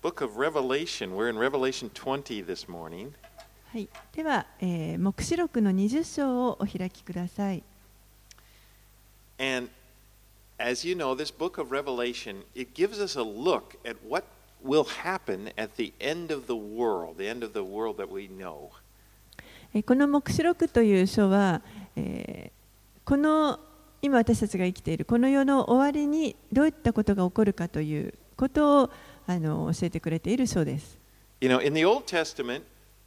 book of Revelation. We're in Revelation 20 this morning. はい、では、黙示録の20章をお開きください。 And as you know, this book of Revelation, it gives us a look at what will happen at the end of the world that we know. この黙示録という書は、この今私たちが生きているこの世の終わりにどういったことが起こるかということを教えてくれている書です。 You know, in the Old Testament,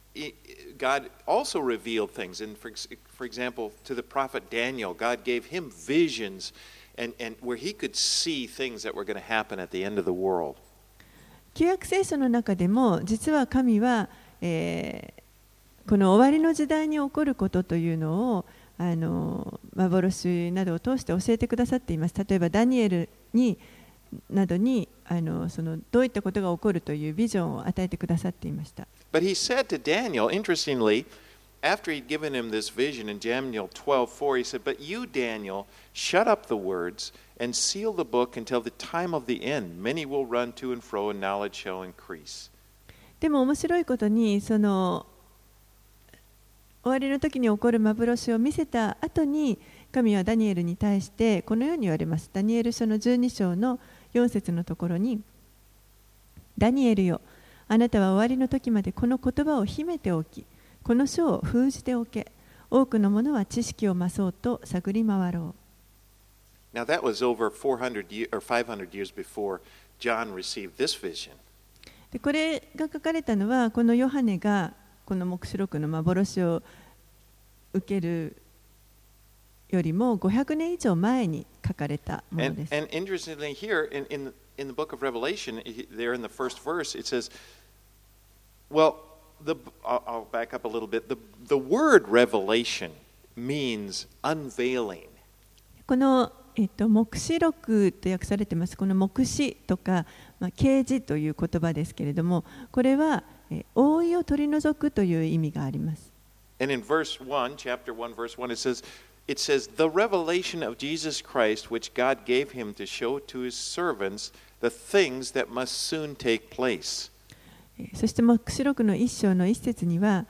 God also revealed things. And for example, to the prophet Daniel, God gave him visions and where he could see things that were going to happen at the end of the world. 旧約聖書の中でも実は神は、この終わりの時代に起こることというのを幻などを通して教えてくださっています。例えばダニエルなどにそのどういったことが起こるというビジョンを与えてくださっていました。 But he said to Daniel, interestingly, after he'd given him this vision in Daniel 12:4, he said, "But you, Daniel, shut up the words and seal the book until the time of the end. Many will run to and fro, and knowledge shall increase." でも面白いことにその終わりの時に起こる幻を見せた後に神はダニエルに対してこのように言われます。ダニエル書の12章の4節のところに、ダニエルよ、あなたは終わりの時までこの言葉を秘めておき、この書を封じておけ。多くの者は知識を増そうと探り回ろう。 Now that was over 400 or 500 years before John received this vision. でこれが書かれたのはこのヨハネがこの黙示録の幻を受けるよりも500年以上前に書かれたものです。 And interestingly, here in the book of Revelation, there in the first verse, it says, well, I'll back up a little bit. The word revelation means unveiling. この、黙示録と訳されています。この黙示とか、啓示という言葉ですけれども、これは覆いを取り除くという意味があります。 And in verse 1, chapter 1, verse 1, it says, the revelation of Jesus Christ, which God gave him to show to his servants the things that must soon take place. そして黙示録の1章の1節には、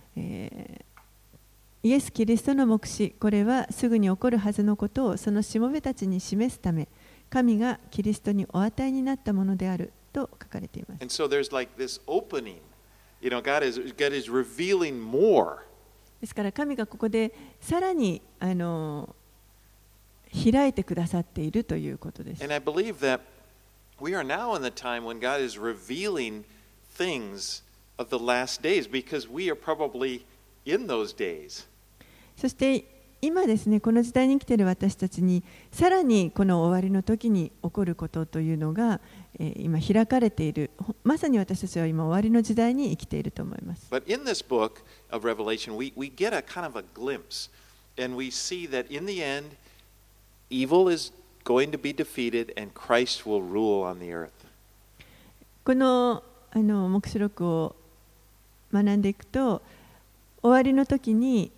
イエス・キリストの黙示、これはすぐに起こるはずのことをそのしもべたちに示すため、神がキリストにお与えになったものであると書かれています。 And so there's like this opening. You know, God is revealing more. ですから神がここでさらに開いてくださっているということです。 And I believe that we are now in the time when God is revealing things of the last days because we are probably in those days. そして今ですね、この時代に生きている私たちにさらにこの終わりの時に起こることというのが、今開かれている。まさに私たちは今終わりの時代に生きていると思います。 But in this book of Revelation, we get a kind of a glimpse, and we see that in the end, evil is going to be defeated, and Christ will rule on the earth. この黙示録を学んでいくと、終わりの時に、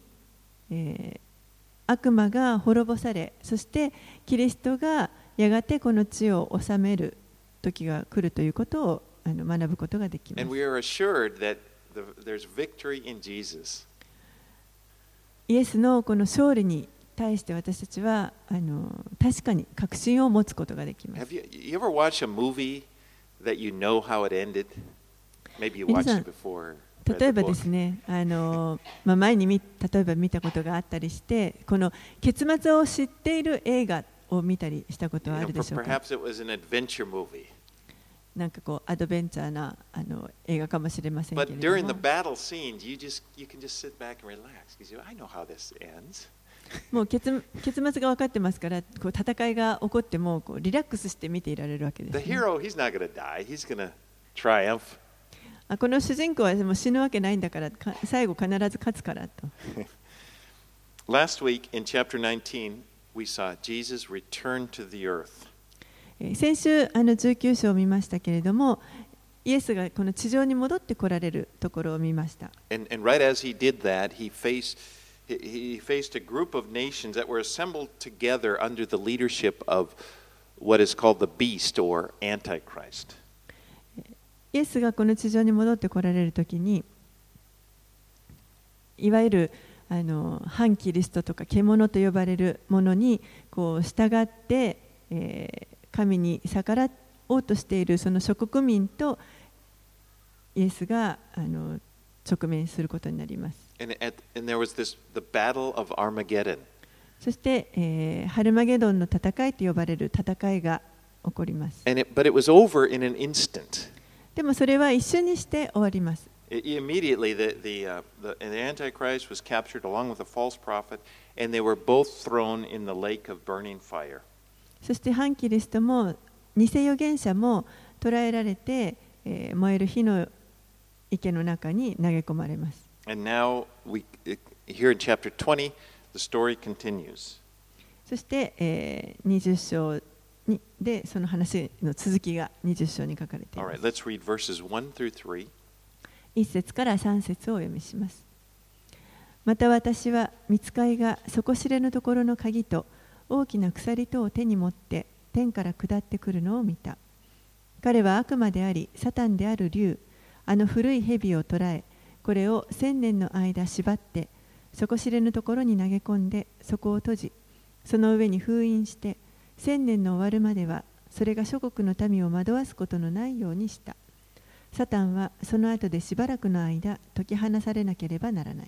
悪魔が滅ぼされ、そしてキリストがやがてこの地を治める時が来るということを学ぶことができます。 And we are assured that there's victory in Jesus. イエスのこの勝利に対して私たちは確かに確信を持つことができます。 Have you ever watched a movie that you know how it ended? Maybe you watched it before. 例えばですね、前に例えば見たことがあったりして、この結末を知っている映画を見たりしたことはあるでしょうか。 Perhaps it was an adventure movie. なんかこうアドベンチャーな映画かもしれませんけれども。 But during the battle scenes, you can just sit back and relax because I know how this ends. もう結末が分かってますから、こう戦いが起こってもこうリラックスして見ていられるわけです、ね。 The hero, he's not going to die. He's going to triumph. この主人公はもう死ぬわけないんだから、最後必ず勝つからと。 Last week in chapter 19, we saw Jesus return to the earth. 先週19章を見ましたけれども、イエスがこの地上に戻ってこられるところを見ました。 And right as he did that, he faced a group of nations that were assembled together under the leadership of what is called the beast or Antichrist. イイエスがこの地上に戻って来られるときに、いわゆる反キリストとか獣と呼ばれるものにこう従って、神に逆らおうとしているその諸国民とイエスが直面することになります。 And there was the battle of Armageddon. そして、ハルマゲドンの戦いと呼ばれる戦いが起こります。 But it was over in an instant. でもそれは一瞬にして終わります。 Immediately, the Antichrist was captured along with the false prophet, and they were both thrown in the lake of burning fire. そして反キリストも偽預言者も捕らえられて、燃える火の池の中に投げ込まれます。 And now, here in chapter 20, the story continues. そして、20章でその話の続きが20章に書かれています。 All right, let's read verses 1 through 3. 1節から3節をお読みします。また私は御使いが底知れぬところの鍵と大きな鎖とを手に持って天から下ってくるのを見た。彼は悪魔でありサタンである竜、あの古い蛇を捕らえ、これを1000年の間縛って底知れぬところに投げ込んでそこを閉じ、その上に封印して1000年の終わるまではそれが諸国の民を惑わすことのないようにした。サタンはその後でしばらくの間解き放されなければならない。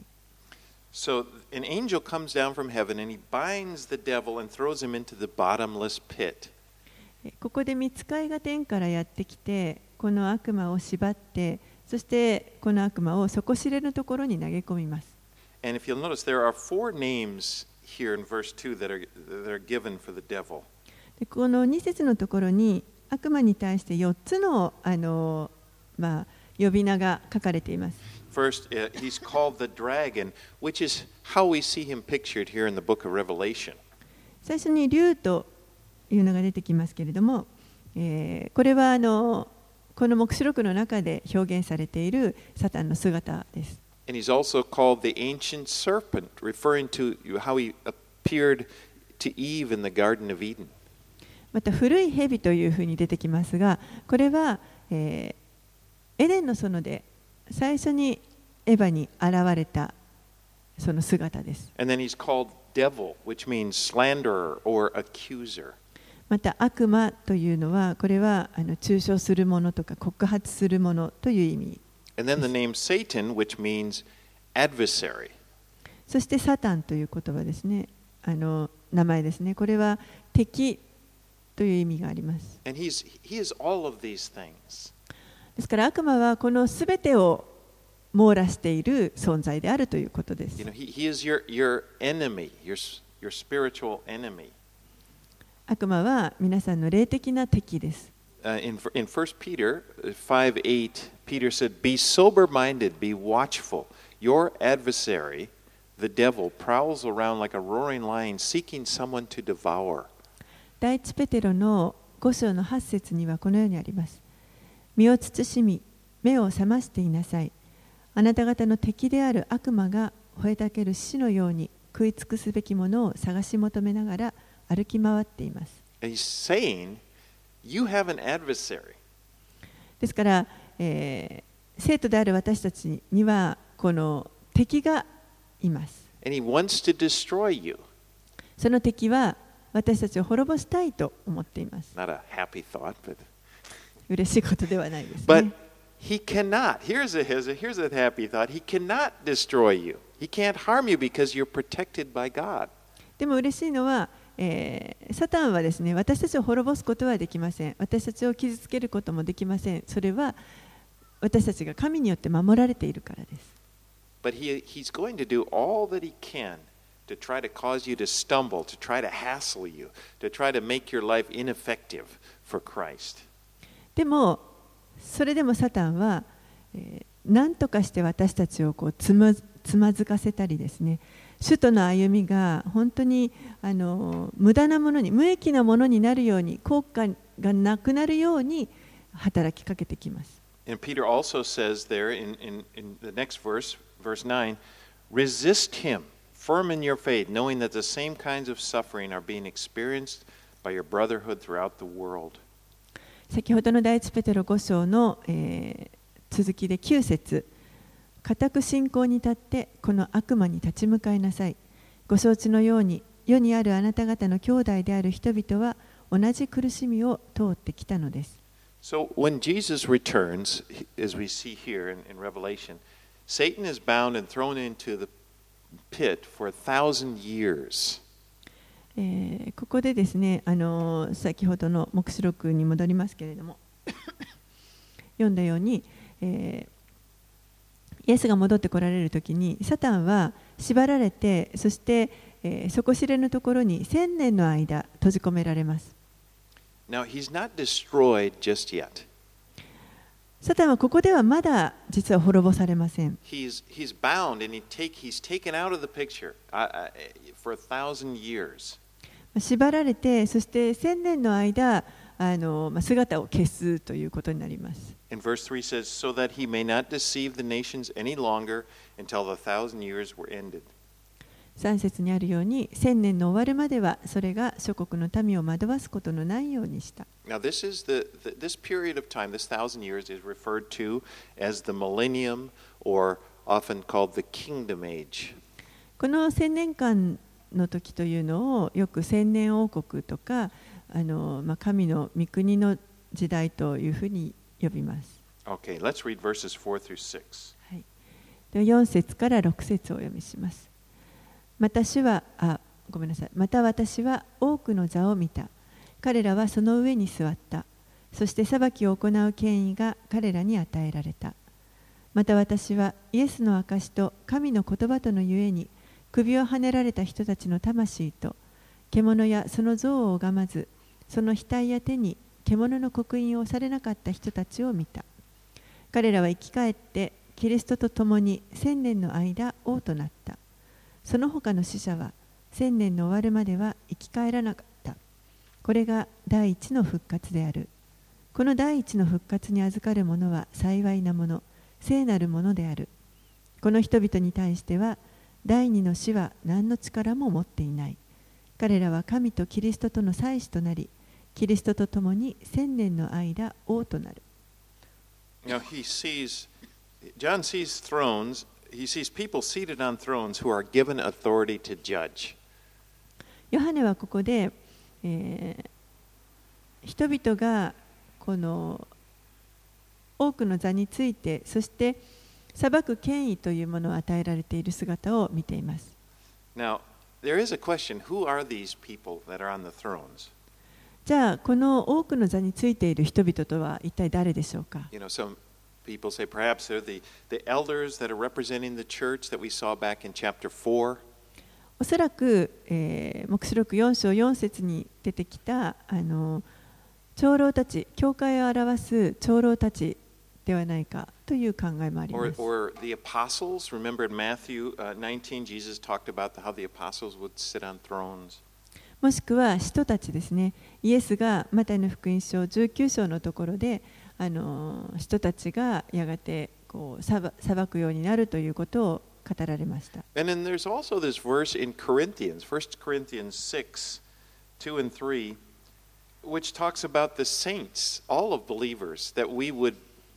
So an angel comes down from heaven and he binds the devil and throws him into the bottomless pit. ここで御使いが天からやってきて、この悪魔を縛って、そしてこの悪魔を底知れぬところに投げ込みます。 And if you'll notice, there are 4 names here in verse 2 that are given for the devil. この2節のところに悪魔に対して4つの呼び名が書かれています。 First, he's called the dragon, which is how we see him pictured here in the book of Revelation. 最初に竜というのが出てきますけれども、これはこの黙示録の中で表現されているサタンの姿です。 And he's also called the ancient serpent, referring to how he appeared to Eve in the Garden of Eden. また古い蛇というふうに出てきますが、これは、エデンの園で最初にエヴァに現れたその姿です。 And then he's called devil, which means slanderer or accuser. また悪魔というのは、これは中傷するものとか告発するものという意味。 And then the name Satan, which means adversary. そしてサタンという言葉ですね。名前ですね。これは敵という意味があります。 And he is all of these things. ですから悪魔はこのすべてを網羅している存在であるということです。 He is your enemy, your spiritual enemy. 悪魔は皆さんの霊的な敵です。 In 1 Peter 5:8, Peter said, "Be sober-minded, be watchful. Your adversary, the devil, prowls around like a roaring lion, seeking someone to devour." 第一ペテロの5章の8節にはこのようにあります。身を慎み、目を覚ましていなさい。あなた方の敵である悪魔が吠えたける獅子のように食い尽くすべきものを探し求めながら歩き回っています。 And he's saying, you have an adversary. ですから、生徒である私たちにはこの敵がいます。 And he wants to destroy you. その敵は私たちを滅ぼしたいと思っています。 Not a happy thought, but 嬉しいことではないですね。 But he cannot. Here's a happy thought. He cannot destroy you. He can't harm you because you're protected by God. でも嬉しいのは、サタンはですね、私たちを滅ぼすことはできません。私たちを傷つけることもできません。それは私たちが神によって守られているからです。 But he's going to do all that he can to try to cause you to stumble, to try to hassle you, to try to make your life ineffective for Christ. でもそれでもサタンは、何とかして私たちをこうつまずかせたりですね、主との歩みが本当に無駄なものに、無益なものになるように、効果がなくなるように働きかけてきます。 And Peter also says there in the next verse, verse 9, resist him, firm in your faith, knowing that the same kinds of suffering are being experienced by your brotherhood throughout the world. 先ほどの第一ペテロ5章の、続きで9節、固く信仰に立ってこの悪魔に立ち向かいなさい。ご承知のように世にあるあなた方の兄弟である人々は同じ苦しみを通ってきたのです。 So when Jesus returns, as we see here in Revelation, Satan is bound and thrown into the pit for 1,000 years. ここでですね、先ほどの黙示録に戻りますけれども読んだように、イエスが戻ってこられるときにサタンは縛られて、そして、底知れぬところに1000年の間閉じ込められます。 Now he's not destroyed just yet. サタンはここではまだ実は滅ぼされません。 He's bound and he's taken out of the picture for 1,000 years. 縛られて、そして1000年の間姿を消すということになります。 And verse 3 says, so that he may not deceive the nations any longer until the 1,000 years were ended. 3節にあるように、1000年の終わるまではそれが諸国の民を惑わすことのないようにした。 Now this period of time, this 1,000 years is referred to as the millennium or often called the kingdom age. この1000年間の時というのをよく千年王国とか神の御国の時代というふうに呼びます。 Okay, let's read verses 4 through 6. はい、で4節から6節をお読みします。また私は多くの座を見た。彼らはその上に座った。そして裁きを行う権威が彼らに与えられた。また私はイエスの証と神の言葉とのゆえに首をはねられた人たちの魂と獣やその像を拝まず、その額や手に獣の刻印をされなかった人たちを見た。彼らは生き返ってキリストと共に1000年の間王となった。その他の死者は1000年の終わるまでは生き返らなかった。これが第一の復活である。この第一の復活に預かる者は幸いなもの、聖なるものである。この人々に対しては第二の死は何の力も持っていない。彼らは神とキリストとの祭司となり、キリストと共に1000年の間王となる。 Now John sees thrones, he sees people seated on thrones who are given authority to judge. ヨハネはここで、人々がこの多くの座について、そして裁く権威というものを与えられている姿を見ています。 Now, there is a question, who are these people that are on the thrones? じゃあ、この多くの座についている人々とは一体誰でしょうか？ Some people say perhaps they're the elders that are representing the church that we saw back in chapter 4. おそらく、黙示録4章4節に出てきた長老たち、教会を表す長老たちではないかという考えもあります。 Or the apostles. Remember in Matthew 19, Jesus talked about how the apostles would sit on thrones. もしくは使徒たちですね。イエスがマタイの福音書19章のところで使徒たちがやがて裁くようになるということを語られました。 And then there's also this verse in Corinthians, 1 Corinthians 6, 2 and 3, which talks about the saints, all of believers, that we would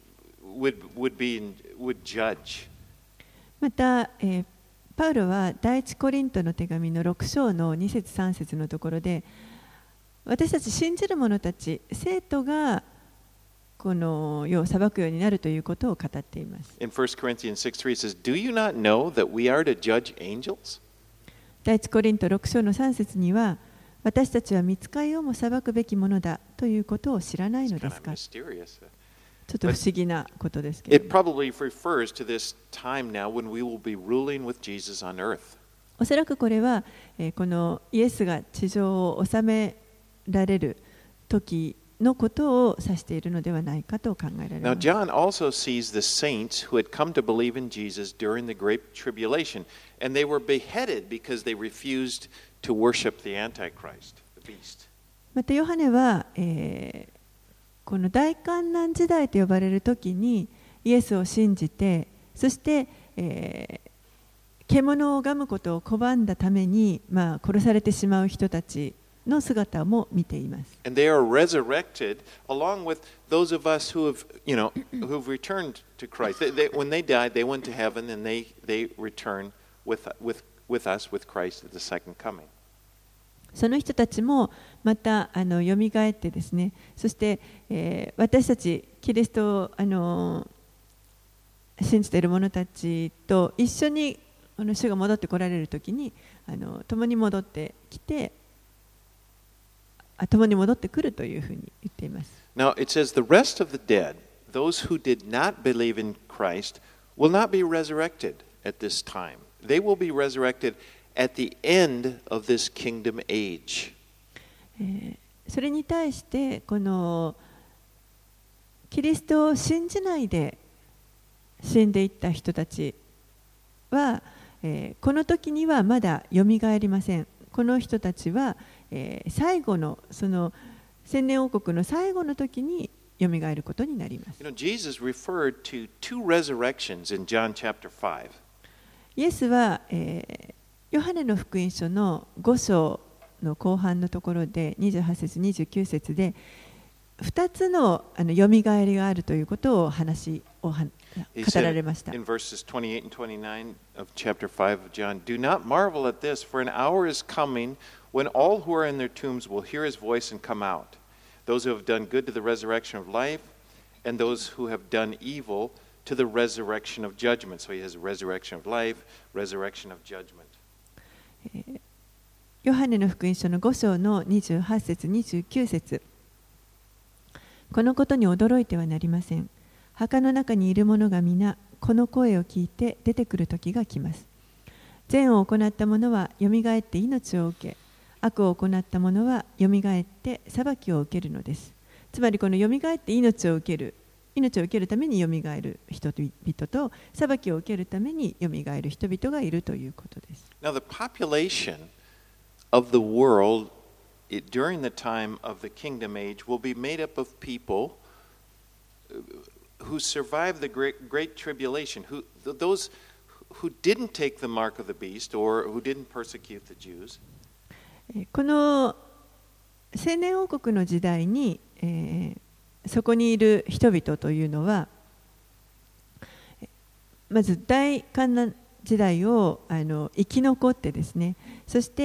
judge. また、パウロは第一コリントの手紙の6章の2節3節のところで、私たち信じる者たち、生徒がこの世を裁くようになるということを語っています。 In 1 Corinthians 6:3 it says, Do you not know that we are to judge angels? 第一コリント6章の3節には、私たちは御使いをも裁くべきものだということを知らないのですか？ちょっと不思議なことですけれども。 It probably refers to this time now when we will be ruling with Jesus on earth. おそらくこれは、このイエスが地上を治められる時のことを指しているのではないかと考えられます。 Now, John also sees the saints who had come to believe in Jesus during the Great Tribulation, and they were beheaded because they refused to worship the Antichrist, the beast. またヨハネは、この大観難時代と呼ばれる時にイエスを信じて、そして、獣を拝むことを拒んだために、殺されてしまう人たちの姿も見ています。 And they are resurrected along with those of us who have, who've returned to Christ. When they died, they went to heaven and they return with us, with Christ at the second coming. その人たちもまたよみがえってですね、そして、私たちキリストを信じている者たちと一緒に主が戻ってこられるときに共に戻ってきて、共に戻ってくるというふうに言っています。 Now it says the rest of the dead, those who did not believe in Christ, will not be resurrected at this time. They will be resurrected at the end of this kingdom age. それに対してこのキリストを信じないで死んでいった人たちは、この時にはまだよみがえりません。この人たちは、最後のその千年王国の最後の時によみがえることになります。 Jesus referred to two resurrections in John chapter 5. イエスは、ヨハネの福音書の5章の後半のところで28節29節で2つのよみがえりがあるということを語られました。 In verses 28 and 29 of chapter 5 of John, do not marvel at this, for an hour is coming when all who are in their tombs will hear his voice and come out. Those who have done good to the resurrection of life, and those who have done evil to the resurrection of judgment. So he has resurrection of life, resurrection of judgment. ヨハネの福音書の5章の28節29節、このことに驚いてはなりません。墓の中にいる者が皆この声を聞いて出てくる時が来ます。善を行った者はよみがえって命を受け、悪を行った者はよみがえって裁きを受けるのです。つまりこのよみがえって命を受けるためによみがえる人々と裁きを受けるためによみがえる人々がいるということです。 Now the population of the world during the time of the kingdom age will be made up of people who survived the great tribulation, those who didn't take the mark of the beast or who didn't persecute the Jews. この千年王国の時代に、そこにいる人々というのはまず大観難時代を生き残ってですね、そして、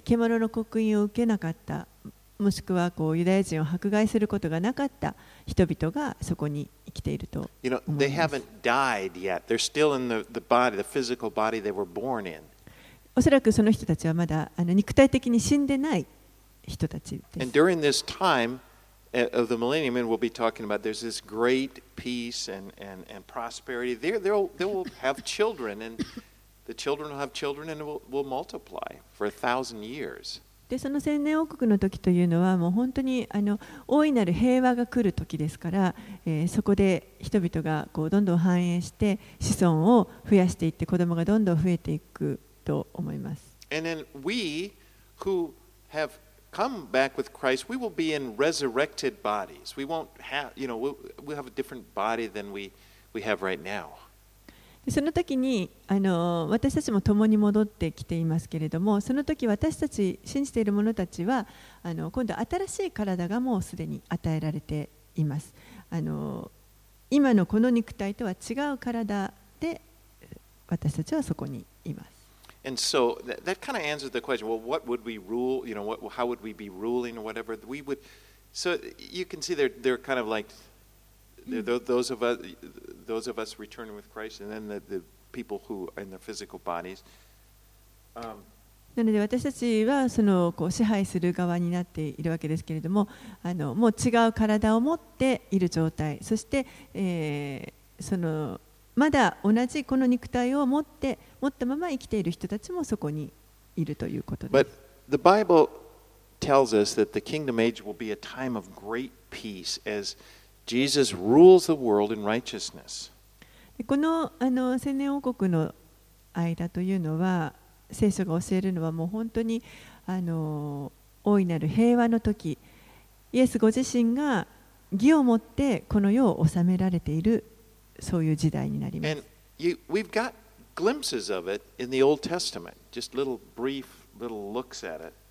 獣の刻印を受けなかった、もしくはユダヤ人を迫害することがなかった人々がそこに生きていると思います。 They haven't died yet. They're still in the body, the physical body they were born in. おそらくその人たちはまだ肉体的に死んでない人たちです。 And during this time of the millennium, and we'll be talking about, there's this great peace and prosperity. They will have children, and the children will have children, and will multiply for 1,000 years. でその千年王国の時というのはもう本当に大いなる平和が来る時ですから、そこで人々がどんどん繁栄して子孫を増やしていって子供がどんどん増えていくと思います。 And then we who have come back with Christ, we will be in resurrected bodies. We won't have, we'll have a different body than we have right now. その時に私たちも共に戻ってきていますけれども、その時私たち信じている者たちは今度新しい体がもうすでに与えられています。今のこの肉体とは違う体で私たちはそこにいます。 And so that kind of answers the question, well, what would we rule? How would we be ruling or whatever? So you can see they're kind of like those of us returning with Christ, and then the people who are in their physical bodies. なので私たちはその支配する側になっているわけですけれども、もう違う体を持っている状態、そして、まだ同じこの肉体を持ったまま生きている人たちもそこにいるということです。 But the Bible tells us that the kingdom age will be a time of great peace as Jesus rules the world in righteousness. この千年王国の間というのは、聖書が教えるのはもう本当に大いなる平和の時、イエスご自身が義をもってこの世を治められている、そういう時代になります。 And we've got glimpses of it in the Old Testament, just brief little looks at it.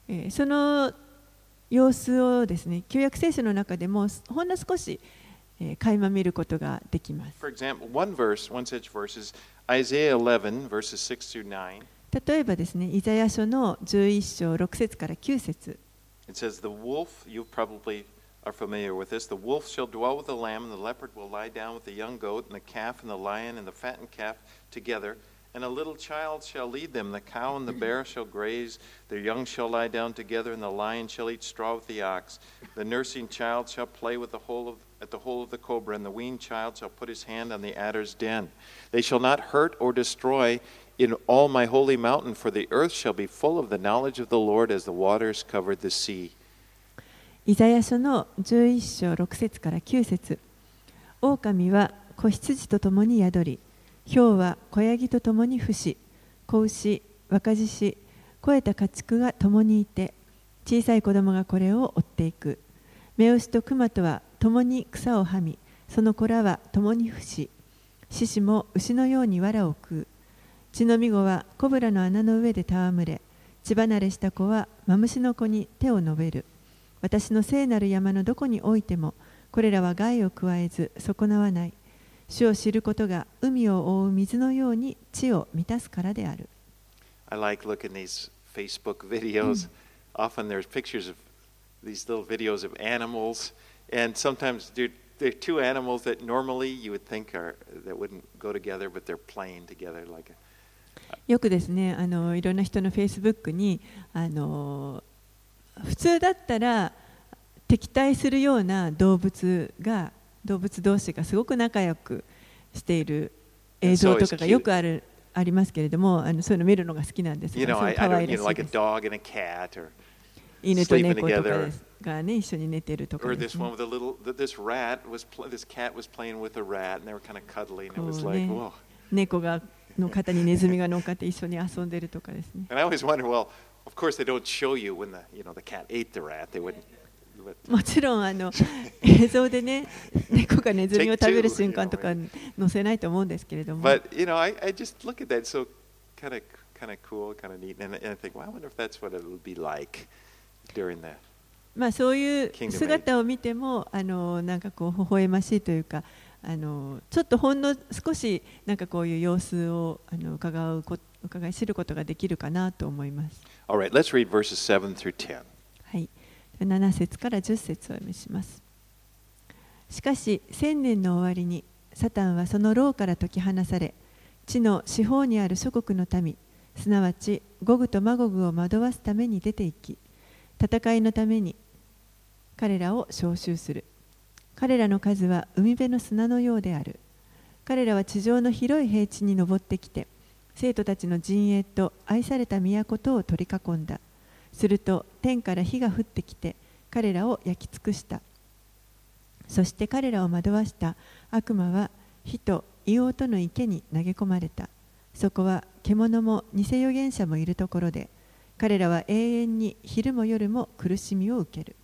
その様子をですね、旧約聖書の中でもほんの少し垣間見ることができます。 For example, one such verse is Isaiah 11, verses 6 through 9. 例えばですね、イザヤ書の11章6節から9節。 It says, The wolf, you probably are familiar with this, the wolf shall dwell with the lamb, and the leopard will lie down with the young goat, and the calf and the lion and the fattened calf together. And a little child shall lead them. The cow and the bear shall graze. Their young shall lie down together, and the lion shall eat straw with the ox. The nursing child shall play with at the hole of the cobra, and the weaned child shall put his hand on the adder's den. They shall not hurt or destroy in all my holy mountain, for the earth shall be full of the knowledge of the Lord as the waters covered the sea. イザヤ書の11章6節から9節。狼は子羊と共に宿り、豹は子ヤギと共に伏し、子牛、若獅子、肥えた家畜が共にいて、小さい子供がこれを追っていく。目牛と熊とは共に草をはみ、その子らは共に伏し、獅子も牛のように藁を食う。血のみ子はコブラの穴の上で戯れ、血離れした子はマムシの子に手を伸べる。私の聖なる山のどこにおいても、これらは害を加えず損なわない。主を知ることが海を覆う水のように地を満たすからである。 I like looking these Facebook videos. Often there's pictures of these little videos of animals, and sometimes there are two animals that normally you would think that wouldn't go together, but they're playing together like a. よくですね、いろんな人のフェイスブックに普通だったら敵対するような動物同士がすごく仲良くしている映像とかがよくありますけれども、そういうの見るのが好きなんですが、可愛らしいです。犬と猫とかがね、一緒に寝てるとかですね。猫の肩にネズミが乗っかって一緒に遊んでるとかですね。もちろん映像でね、猫がネズミを食べる瞬間とか載せないと思うんですけれども。 But I just look at that, so kind of cool, kind of neat, and I think, well, I wonder if that's what it would be like during the. まあそういう姿を見てもなんかこう微笑ましいというか、ちょっとほんの少しなんかこういう様子を伺い知ることができるかなと思います。 All right, let's read verses 7 through 10. はい。7節から10節をお読みします。しかし千年の終わりにサタンはその牢から解き放され、地の四方にある諸国の民、すなわちゴグとマゴグを惑わすために出て行き、戦いのために彼らを召集する。彼らの数は海辺の砂のようである。彼らは地上の広い平地に登ってきて、生徒たちの陣営と愛された都とを取り囲んだ。すると天から火が降ってきて彼らを焼き尽くした。そして彼らを惑わした悪魔は火と硫黄との池に投げ込まれた。そこは獣も偽預言者もいるところで、彼らは永遠に昼も夜も苦しみを受ける。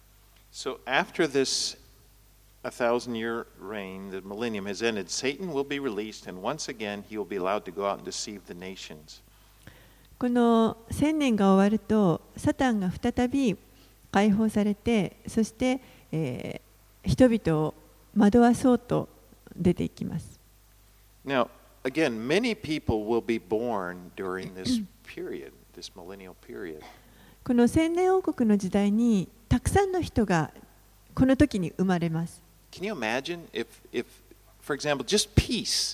So after this 1,000-year reign, the millennium has ended, Satan will be released, and once again he will be allowed to go out and deceive the nations. この1000年が終わると、サタンが再び解放されて、そして、人々を惑わそうと出ていきます。 Now, again, many people will be born during this period, this millennial period. この千年王国の時代にたくさんの人がこの時に生まれます。 Can you imagine if, for example, just peace?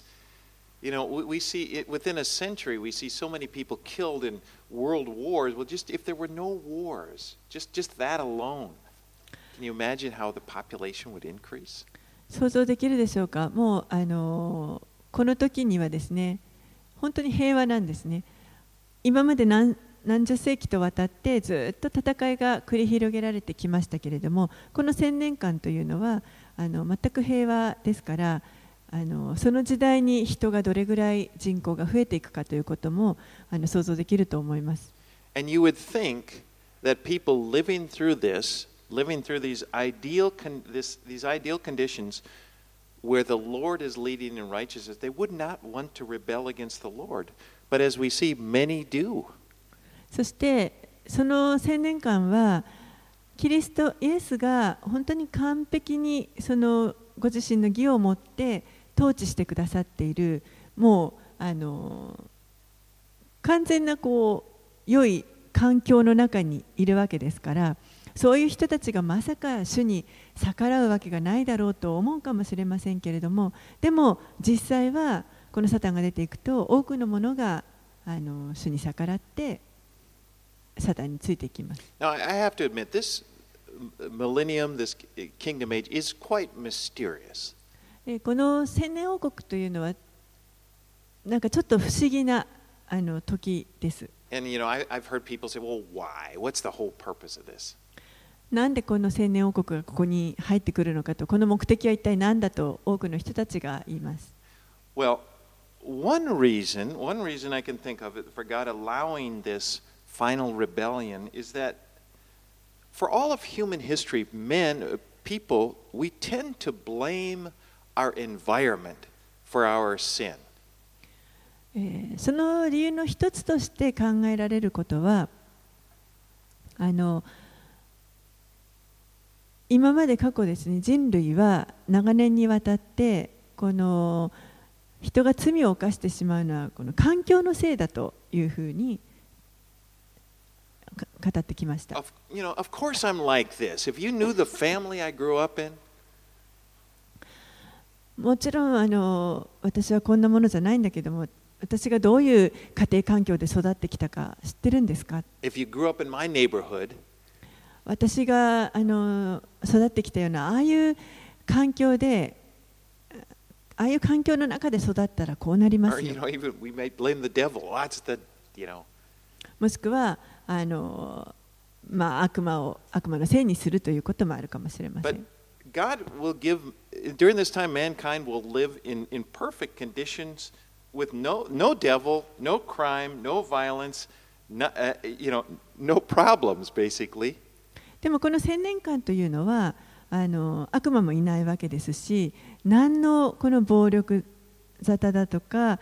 We see it within a century, we see so many people killed in world wars. Well, just if there were no wars, just that alone, can you imagine how the population would increase? 想像できるでしょうか。もうこの時にはですね、本当に平和なんですね。今まで何十世紀とわたってずっと戦いが繰り広げられてきましたけれども、この1000年間というのは全く平和ですから、その時代に人がどれぐらい人口が増えていくかということも想像できると思います。 And you would think that people living through these ideal conditions where the Lord is leading in righteousness, they would not want to rebel against the Lord. But as we see, many do. そしてその1000年間はキリストイエスが本当に完璧にそのご自身の義を持って統治してくださっている、もう完全な良い環境の中にいるわけですから、そういう人たちがまさか主に逆らうわけがないだろうと思うかもしれませんけれども、でも実際はこのサタンが出ていくと多くのものが主に逆らってサタンについていきます。 Now, I have to admit, this millennium, this kingdom age is quite mysterious. この千年王国というのはなんかちょっと不思議な時です。 And I've heard people say, "Well, why? What's the whole purpose of this?" なんでこの千年王国がここに入ってくるのかと、この目的は一体何だと多くの人たちが言います。 Well, one reason I can think of it for God allowing this final rebellion is that for all of human history, people, we tend to blame our environment for our sin. その理由の一つとして考えられることは、今まで過去ですね、人類は長年にわたってこの人が罪を犯してしまうのはこの環境のせいだというふうに語ってきました。 Of course I'm like this. If you knew the family I grew up in, もちろん私はこんなものじゃないんだけども、私がどういう家庭環境で育ってきたか知ってるんですか？ If you grew up in my neighborhood, 私が育ってきたようなああいう環境で、ああいう環境の中で育ったらこうなりま or すよ。 even we may blame the devil. Well, that's the. もしくは悪魔のせいにするということもあるかもしれませ But ん。 God will give, during this time, mankind will live in perfect conditions with no devil, no crime, no violence, no problems, basically. でもこの1000年間というのは悪魔もいないわけですし、何のこの暴力沙汰だとか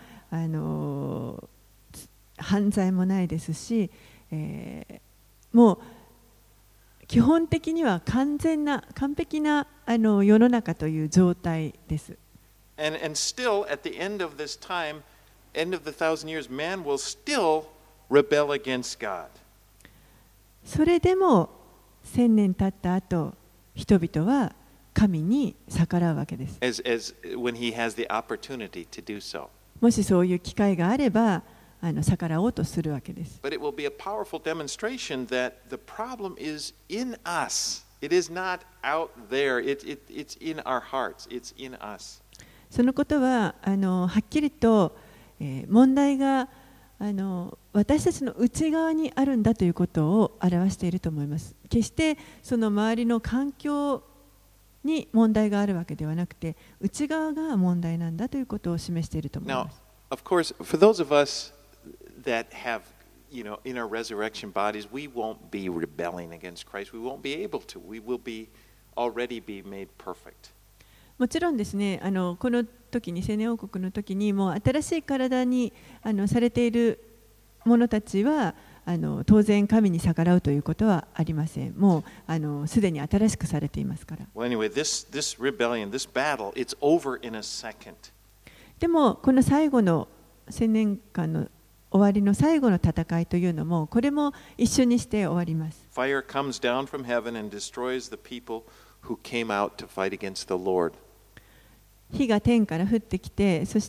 犯罪もないですし、もう基本的には完璧な世の中という状態です。 And still, at the end of this time, end of the 1,000 years, man will still rebel against God. それでも1000年経った後、人々は神に逆らうわけです。 As when he has the opportunity to do so. もしそういう機会があれば逆らおうとするわけです。 But it will be a powerful demonstration that the problem is in us. It is not out there. It's in our hearts. It's in us. そのことははっきりと、問題が私たちの内側にあるんだということを表していると思います。決してその周りの環境に問題があるわけではなくて、内側が問題なんだということを示していると思いま Now, す。 of course, for those of us that have, in our resurrection bodies, we won't be rebelling against Christ. We won't be able to. We will already be made perfect. もちろんですね、この時に千年王国の時にもう新しい体にされている者たちは当然神に逆らうということはありません。もうすでに新しくされていますから。 Well, anyway, this rebellion, this battle, it's over in a second. でもこの最後の千年間の終わりの最後の戦いというのもこれも一緒にして終わります。 Fire comes down from heaven and destroys the people who came out to fight against the Lord. 火が天から降ってきて、そして、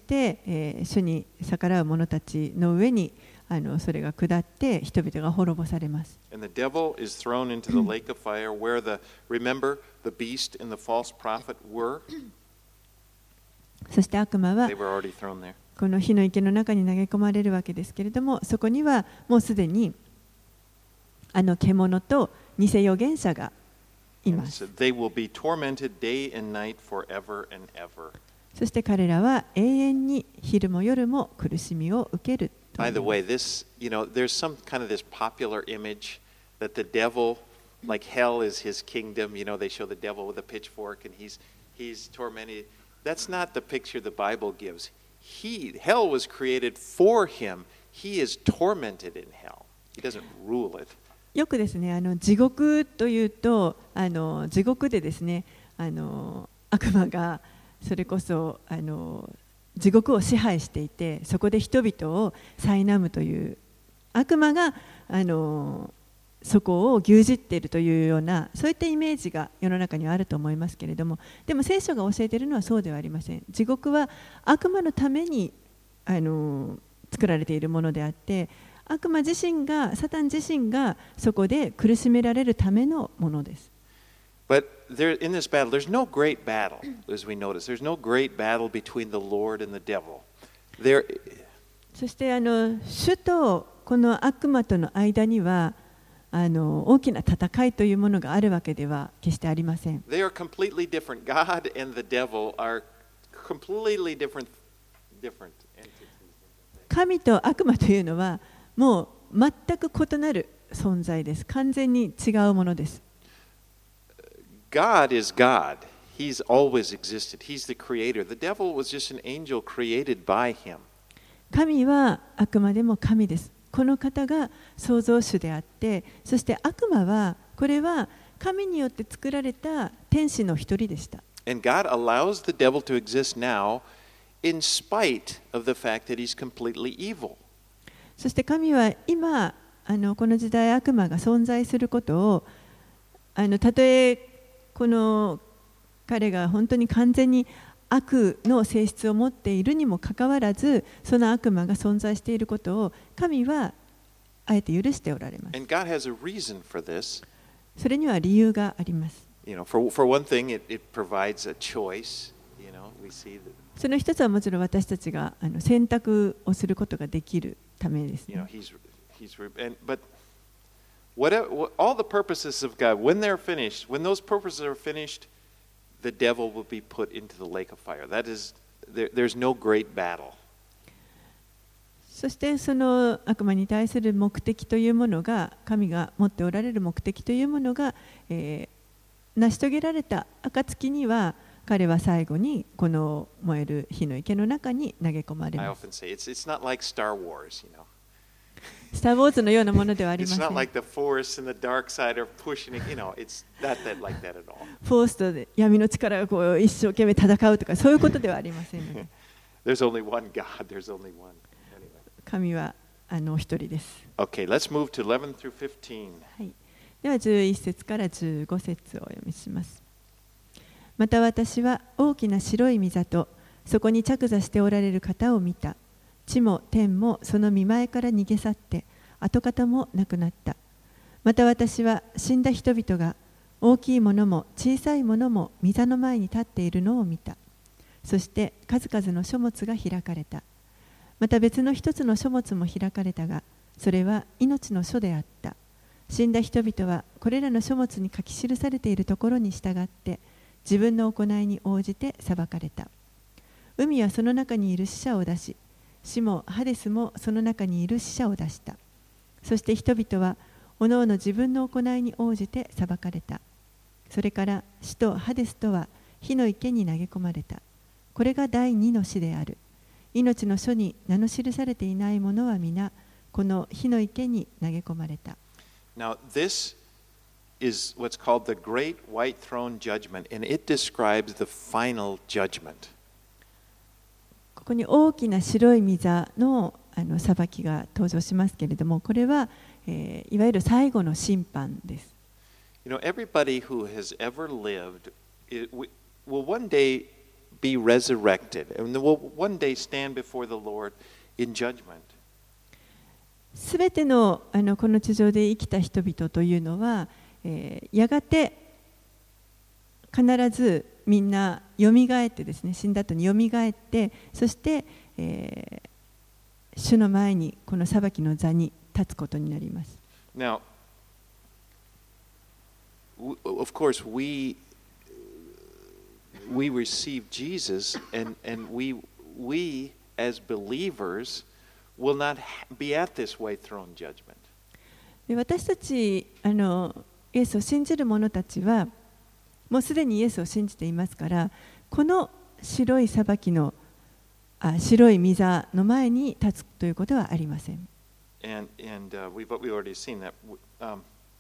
主に逆らう者たちの上にそれが下って人々が滅ぼされます。 And the devil is thrown into the lake of fire where remember, the beast and the false prophet were. そして悪魔は They were already thrown there. この火の池の中に投げ込まれるわけですけれども、そこにはもうすでに獣と偽預言者がいます。 So they will be tormented day and night forever and ever. そして彼らは永遠に昼も夜も苦しみを受ける。 By the way, there's some kind of this popular image that the devil, like hell is his kingdom. They show the devil with a pitchfork and he's tormented. That's not the picture the Bible gives. Hell was created for him. He is tormented in hell. He doesn't rule it. よくですね、地獄というと、地獄でですね、悪魔がそれこそ地獄を支配していて、そこで人々を苛むという悪魔がそこを牛耳っているというような、そういったイメージが世の中にはあると思いますけれども、でも聖書が教えているのはそうではありません。地獄は悪魔のために作られているものであって、悪魔自身が、サタン自身がそこで苦しめられるためのものです。 But there, in this battle, there's no great battle, as we notice. There's no great battle between the Lord and the devil. そして主とこの悪魔との間には大きな戦いというものがあるわけでは決してありません。 They are completely different. God and the devil are completely different entities. 神と悪魔というのはもう全く異なる存在です。完全に違うものです。 God is God. He's always existed. He's the creator. The devil was just an angel created by him. 神はあくまでも神です。この方が創造主であって、そして悪魔はこれは神によって作られた天使の一人でした。 And God allows the devil to exist now in spite of the fact that he's completely evil. そして神は今この時代悪魔が存在することをたとえこの彼が本当に完全に悪の性質を持っているにもかかわらず、その悪魔が存在していることを神はあえて許しておられます。 And God has a reason for this. それには理由があります。 For one thing, it provides a choice. We see that. その一つはもちろん私たちが選択をすることができるためです、ね。 But all the purposes of God, when they're finished, when those purposes are finished, the devil will be put into the lake of fire. That is, there's no great battle. そしてその悪魔に対する目的というものが、神が持っておられる目的というものが、成し遂げられた暁には、彼は最後にこの燃える火の池の中に投げ込まれます。 It's not like Star Wars, スター・ウォーズのようなものではありません。 It's not like the Force and the dark side are pushing it, it's not like that at all. フォースと闇の力がこう一生懸命戦うとかそういうことではありませんので。 There's only one God, there's only one. 神はお一人です。 Okay, let's move to 11 through 15. はい。では11節から15節をお読みします。また私は大きな白い御座とそこに着座しておられる方を見た。地も天もその御前から逃げ去って跡形もなくなった。また私は死んだ人々が大きいものも小さいものも御座の前に立っているのを見た。そして数々の書物が開かれた。また別の一つの書物も開かれたが、それは命の書であった。死んだ人々はこれらの書物に書き記されているところに従って自分の行いに応じて裁かれた。海はその中にいる死者を出し、死もハデスもその中にいる死者を出した。そして人々はおのおの自分の行いに応じて裁かれた。それから死とハデスとは火の池に投げ込まれた。これが第二の死である。命の書に名の記されていない者は皆この火の池に投げ込まれた。 Now this is what's called the Great White Throne Judgment, and it describes the final judgment. ここに大きな白い御座の裁きが登場しますけれども、これは、いわゆる最後の審判です。 Everybody who has ever lived will one day be resurrected, and will one day stand before the Lord in judgment. すべてのこの地上で生きた人々というのは、やがて必ずみんなよみがえってですね、死んだ後によみがえって、そして、主の前にこの裁きの座に立つことになります。 Now, of course, we receive Jesus, and we as believers will not be at this white throne judgment. で私たちイエスを信じる者たちはもうすでにイエスを信じていますから、この白い裁きの白い御座の前に立つということはありません。 And we've already seen that.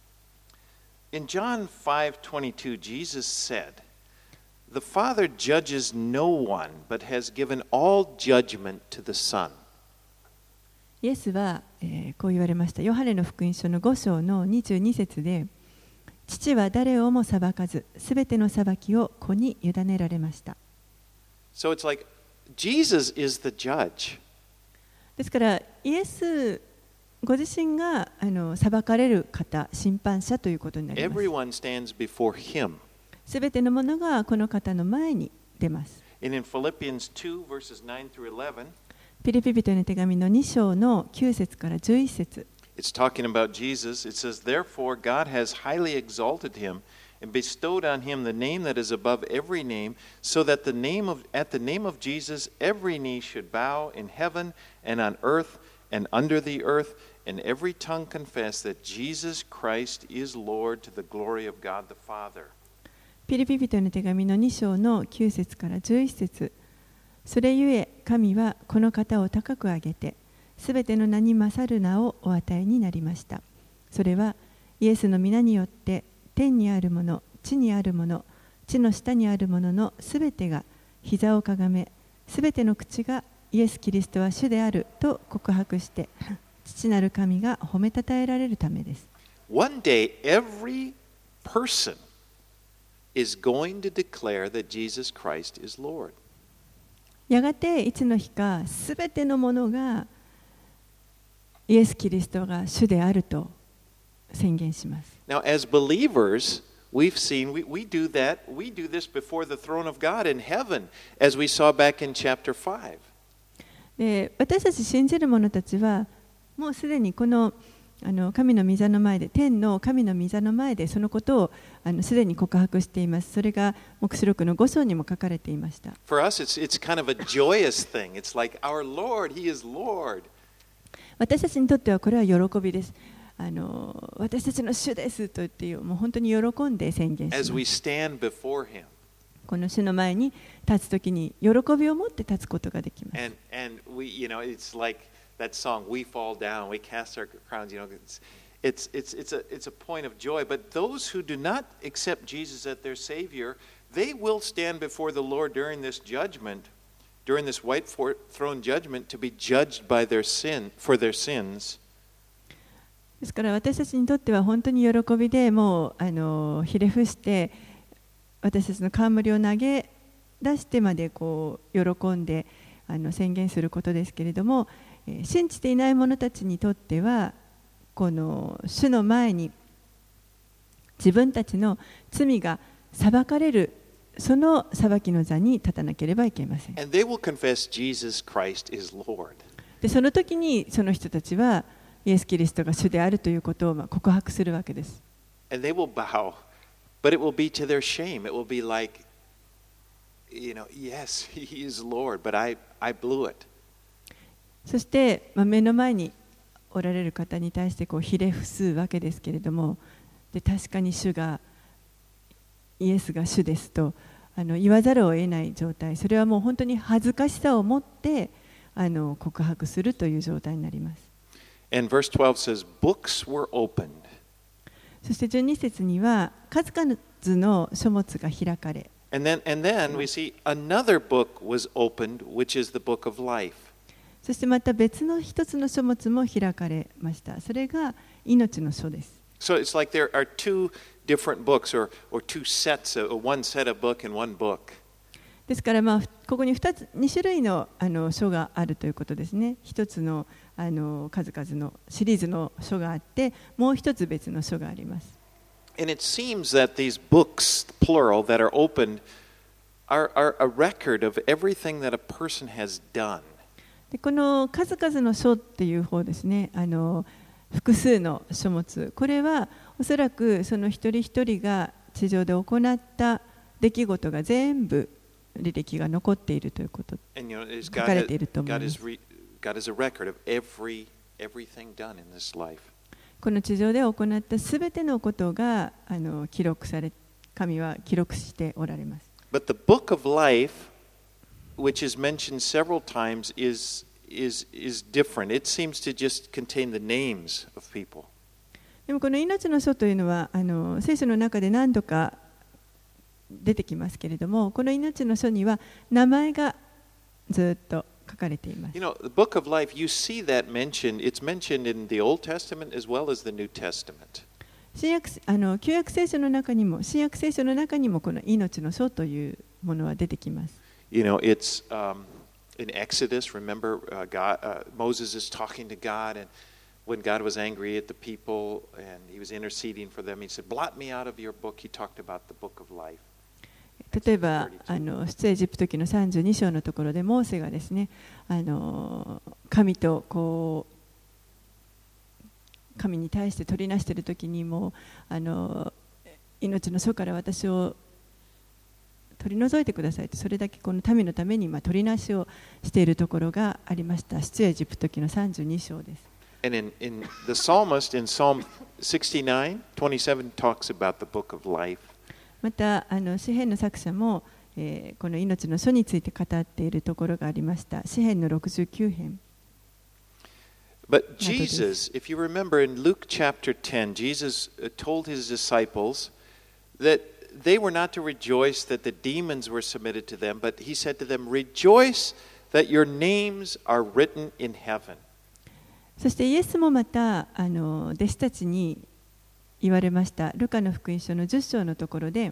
In John 5:22, Jesus said, "The Father judges no one, but has given all judgment to the Son." イエスは、こう言われました。ヨハネの福音書の5章の22節で、父は誰をも裁かず、すべての裁きを子に委ねられました。 So it's like Jesus is the judge. ですから、イエスご自身が裁かれる方、審判者ということになります。 Everyone stands before him. すべてのものがこの方の前に出ます。 And in Philippians 2, verses 9 through 11, ピリピ人への手紙の2章の9節から11節。 it's talking about Jesus. It says, "Therefore God has highly exalted him and bestowed on him the name that is above every name, so that at the name of Jesus every knee should bow in heaven and on earth and under the earth, and every tongue confess that Jesus Christ is Lord to the glory of God the Father." ピリピ人への手紙の2章の9節から11節。それゆえ神はこの方を高く上げて、すべての名に勝る名をお与えになりました。それはイエスの皆によって天にあるもの、地にあるもの、地の下にあるもののすべてが膝をかがめ、すべての口がイエス・キリストは主であると告白して、父なる神が褒めたたえられるためです。 One day every person is going to declare that Jesus Christ is Lord. やがていつの日かすべてのものがイエス・キリストが主であると宣言します。 Now, as believers, we've seen, we do that, we do this before the throne of God in heaven, as we saw back in chapter 5. で、私たち信じる者たちはもうすでにこの神の御座の前で、天の神の御座の前でそのことをすでに告白しています。それが黙示録の5章にも書かれていました。 For us, it's kind of a joyous thing. It's like our Lord, He is Lord. 私たちにとってはこれは喜びです。私たちの主ですと言ってもう本当に喜んで宣言します。 As we stand before Him. この主の前に立つときに喜びを持って立つことができます。 And we, it's like that song, "We fall down, we cast our crowns." It's a point of joy. But those who do not accept Jesus as their Savior, they will stand before the Lord during this judgment, during this white throne judgment, to be judged by for their sins. ですから私たちにとっては本当に喜びで、もうひれ伏して私たちの冠を投げ出してまでこう喜んで宣言することですけれども、信じていない者たちにとってはこの主の前に自分たちの罪が裁かれる、その裁きの座に立たなければいけません。 And they will confess Jesus Christ is Lord. でその時にその人たちはイエス・キリストが主であるということを告白するわけです。 And they will bow, but it will be to their shame. It will be like, yes, He is Lord, but I blew it. そして、目の前におられる方に対してこうひれ伏すわけですけれども、で確かにイエスが主ですと言わざるを得ない状態、それはもう本当に恥ずかしさを持って告白するという状態になります。 And verse 12 says, "Books were opened." そして12節には数々の書物が開かれ、 And then we see another book was opened, which is the book of life. そしてまた別の一つの書物も開かれました。それが命の書です。 So it's like there are two different books, or two sets, one set of book and one book. ですから、ここに2種類の書があるということですね。一つの数々のシリーズの書があって、もう一つ別の書があります。 And it seems that these books, plural, that are opened are a record of everything that a person has done. でこの数々の書っていう方ですね、複数の書物、これはおそらくその一人一人が地上で行った出来事が全部履歴が残っているということ、書かれていると思います。 God has a record of everything done in this life. この地上で行ったすべてのことが記録され、神は記録しておられます。 But the book of life, which is mentioned several times, is different. It seems to just contain the names of people. でもこの命の書というのは聖書の中で何度か出てきますけれども、この命の書には名前がずっと書かれています。 You know, the book of life, you see that mentioned, it's mentioned in the Old Testament as well as the New Testament. 旧約聖書の中にも新約聖書の中にもこの命の書というものは出てきます。 You know, it's in Exodus, remember, Moses is talking to God, and when God was angry at the people and he was interceding for them, he said, "Blot me out of your book." He talked about the book of life. 例えば出エジプト記の32章のところでモーセがですね、神とこう神に対して取りなしているときにも命の書から私を取り除いてくださいと、それだけこの民のために取りなしをしているところがありました。出エジプト記の32章です。 And in the psalmist in Psalm 69:27 talks about the book of life. また詩編の作者も、この命の書について語っているところがありました。詩編の69編。 But Jesus, if you remember in Luke chapter 10, Jesus told his disciples that they were not to rejoice that the demons were submitted to them, but he said to them, "Rejoice that your names are written in heaven." そしてイエスもまた弟子たちに言われました。ルカの福音書の10章のところで、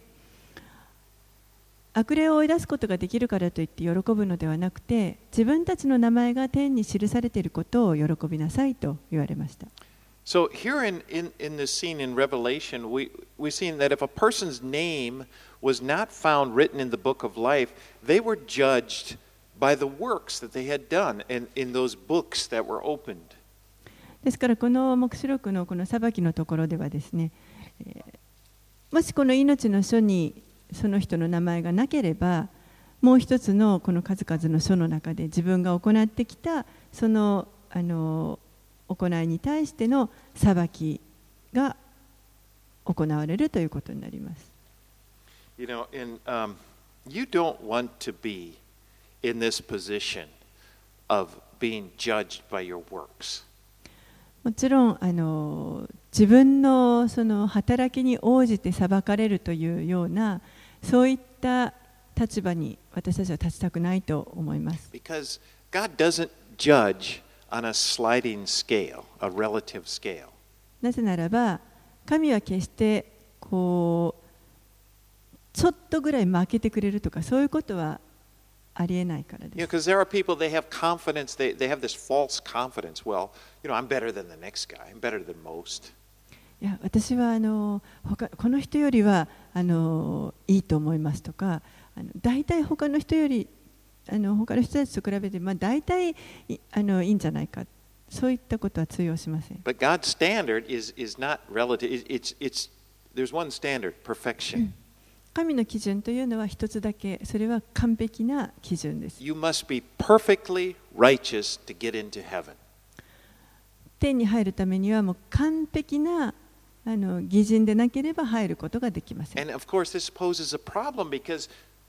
悪霊を追い出すことができるからといって喜ぶのではなくて、自分たちの名前が天に記されていることを喜びなさいと言われました。 So here in this scene in Revelation, we've seen that if a person's name was not found written in the book of life, they were judged by the works that they had done in those books that were opened. ですからこの黙示録のこの裁きのところではですね、もしこの命の書にその人の名前がなければ、もう一つのこの数々の書の中で自分が行ってきたその行いに対しての裁きが行われるということになります。 You know, you don't want to be in this position of being judged by your works. もちろん自分のその働きに応じて裁かれるというようなそういった立場に私たちは立ちたくないと思います。 Because God doesn't judge on a sliding scale, a relative scale. なぜならば神は決してこうちょっとぐらい負けてくれるとかそういうことはありえないからです。 Because there are people, they have confidence, they have this false confidence. Well, I'm better than the next guy. I'm better than most. いや、私はこの人よりはいいと思いますとか、大体他の人より他の人たちと比べて大体いいんじゃないか。そういったことは通用しません。 But God's standard is not relative. There's one standard, perfection. 神の基準というのは一つだけ、それは完璧な基準です。 You must be perfectly righteous to get into heaven. 天に入るためにはもう完璧な義人でなければ入ることができません。 And of course, this poses a problem because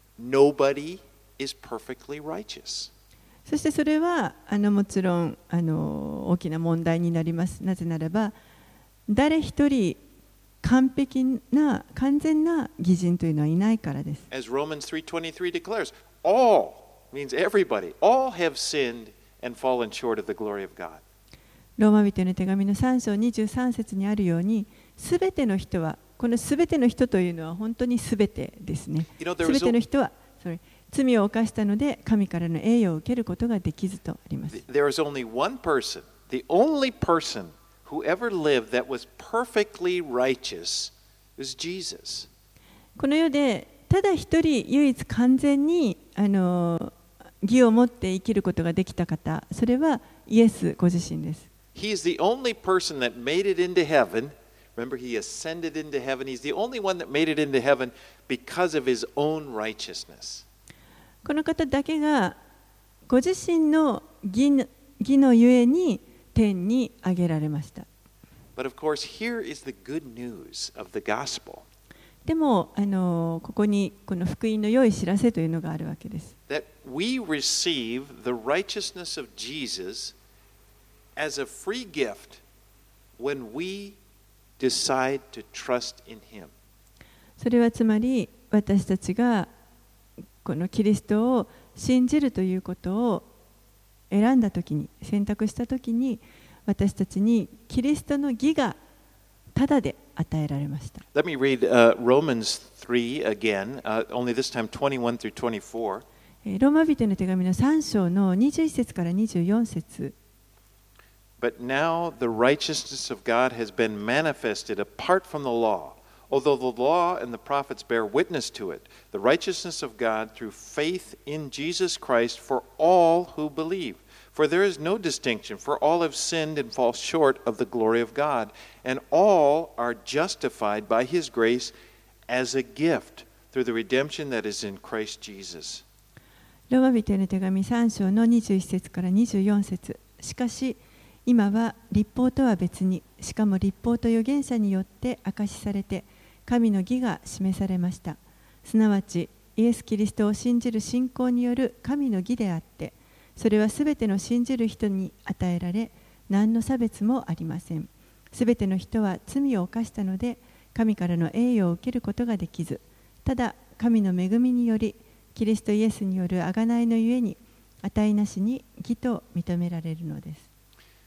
nobody is perfectly righteous. そしてそれはもちろん大きな問題になります。なぜならば誰一人完全な義人というのはいないからです。 As Romans 3:23 declares, all means everybody, all have sinned and fallen short of the glory of God. ローマ人への手紙の3章23節にあるように、すべての人は、このすべての人というのは本当にすべてですね。すべての人は罪を犯したので神からの栄誉を受けることができずとあります。 There is only one person, the only person who ever lived that was perfectly righteous is Jesus. この世でただ一人唯一完全に義を持って生きることができた方、それはイエスご自身です。 He is the only person that made it into heaven. Remember, he ascended into heaven. He's the only one that made it into heaven because of his own righteousness. この方だけがご自身の義のゆえに天に上げられました。 But of course, here is the good news of the gospel. でもここにこの福音の良い知らせというのがあるわけです。 That we receive the righteousness of Jesus as a free gift when we decide to trust in Him. それはつまり私たちがこのキリストを信じるということを選んだときに、選択したときに、私たちにキリストの義がただで与えられました。 Let me read Romans 3 again, only this time 21 through 24. ローマ人の手紙の3章の21節から24節。 But now the righteousness of God has been manifested apart from the law. Although the law and the prophets bear witness to it, the righteousness of God through faith in Jesus Christ for all who believe. For there is no distinction, for all have sinned and fall short of the glory of God, and all are justified by His grace as a gift through the redemption that is in Christ Jesus. ローマ人への手紙3章の21節から24節。しかし今は律法とは別に、しかも律法と預言者によって証しされて、神の義が示されました。すなわちイエス・キリストを信じる信仰による神の義であって、それはすべての信じる人に与えられ、何の差別もありません。すべての人は罪を犯したので、神からの栄誉を受けることができず、ただ神の恵みにより、キリストイエスによる贖いのゆえに、値なしに義と認められるのです。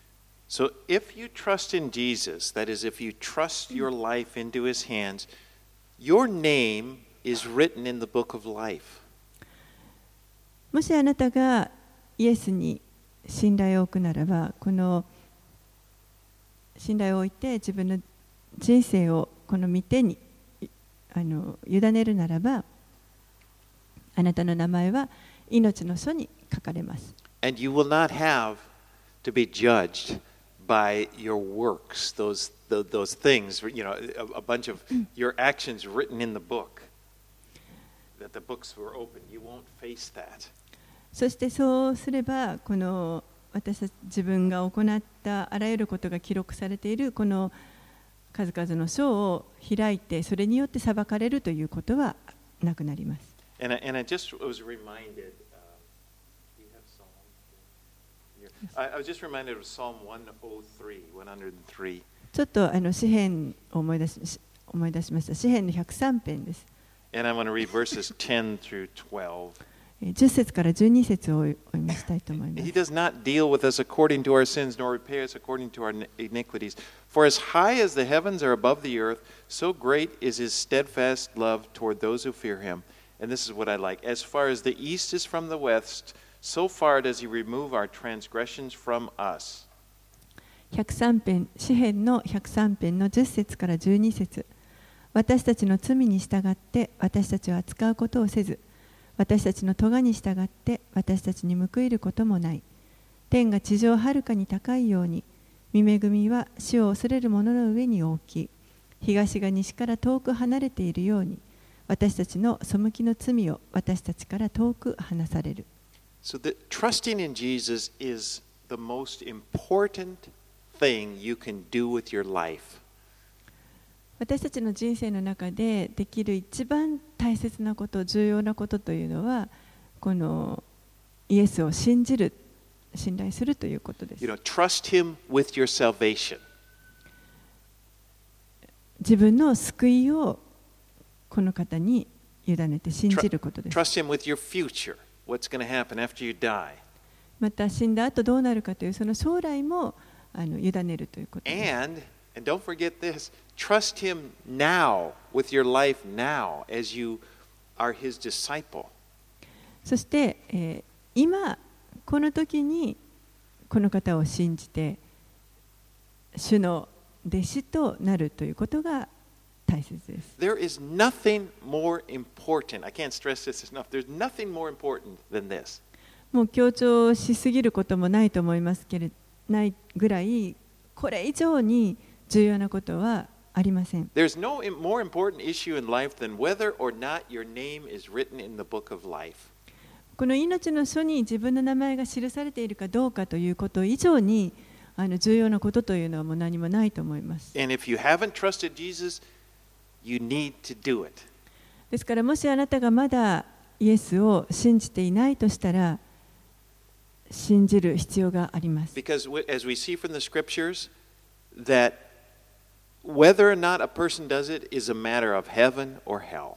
So if you trust in Jesus, that is, if you trust your life into His hands, your name is written in the book of life. もしあなたがイエスに信頼を置くならば、この信頼を置いて自分の人生をこの御手に委ねるならば、あなたの名前は命の書に書かれます。 And you will not have to be judged by your works, those things, you know, a bunch of your actions written in the book, that the books were open. You won't face that. そしてそうすれば、この私たち自分が行ったあらゆることが記録されているこの数々の書を開いて、それによって裁かれるということはなくなります。 And I just was reminded. I was just reminded of Psalm 103. ちょっと詩編を思い出しました。詩編の103編です。 And I want to read verses 10 through 12. 10節から12節をお読みしたいと思います。 He does not deal with us according to our sins, nor repay us according to our iniquities. For as high as the heavens are above the earth, so great is His steadfast love toward those who fear Him. And this is what I like. As far as the east is from the west, so far does He remove our transgressions from us. 103編、詩編の103編の10節から12節。私たちの罪に従って私たちを扱うことをせず、私たちの咎に従って私たちに報いることもない。天が地上はるかに高いように、御恵みは死を恐れる者の上に大きい。東が西から遠く離れているように、私たちの背きの罪を私たちから遠く離される。 So that trusting in Jesus is the most important thing you can do with your life. 私たちの人生の中でできる一番大切なこと、重要なことというのは、このイエスを信じる、信頼するということです。 You know, trust Him with your salvation. 自分の救いをこの方に委ねて信じることです。 Trust Him with your future. What's going to happen after you die? また死んだ後どうなるかというその将来も委ねるということです。 And don't forget this, trust Him now with your life now as you are His disciple. そして、今この時にこの方を信じて主の弟子となるということが大切です。 There is nothing more important. I can't stress this enough. There's nothing more important than this. もう強調しすぎることもないと思いますけれど、ないぐらいこれ以上に重要なことはありません。 There's no more important issue in life than whether or not your name is written in the book of life. この命の書に自分の名前が記されているかどうかということ以上に重要なことというのはもう何もないと思います。 And if you haven't trusted Jesus, you need to do it. ですからもしあなたがまだイエスを信じていないとしたら信じる必要があります。 Because as we see from the scriptures that whether or not a person does it is a matter of heaven or hell.